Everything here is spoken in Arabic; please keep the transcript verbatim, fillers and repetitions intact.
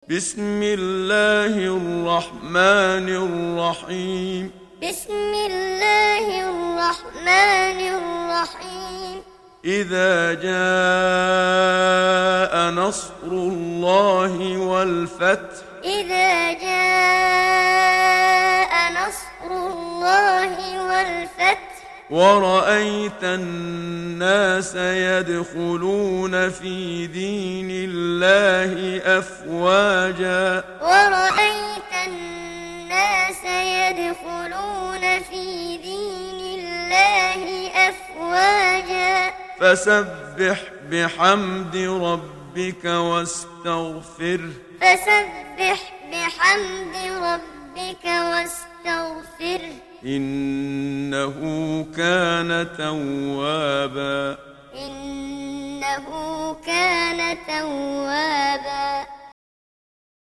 بسم الله الرحمن الرحيم بسم الله الرحمن الرحيم إذا جاء نصر الله والفتح إذا جاء نصر الله والفتح ورأيت الناس يدخلون في دين الله أفواجا ورأيت الناس يدخلون في دين الله أفواجا فسبح بحمد ربك واستغفره فسبح بحمد ربك واستغفره إنه كان توابا إنه كان توابا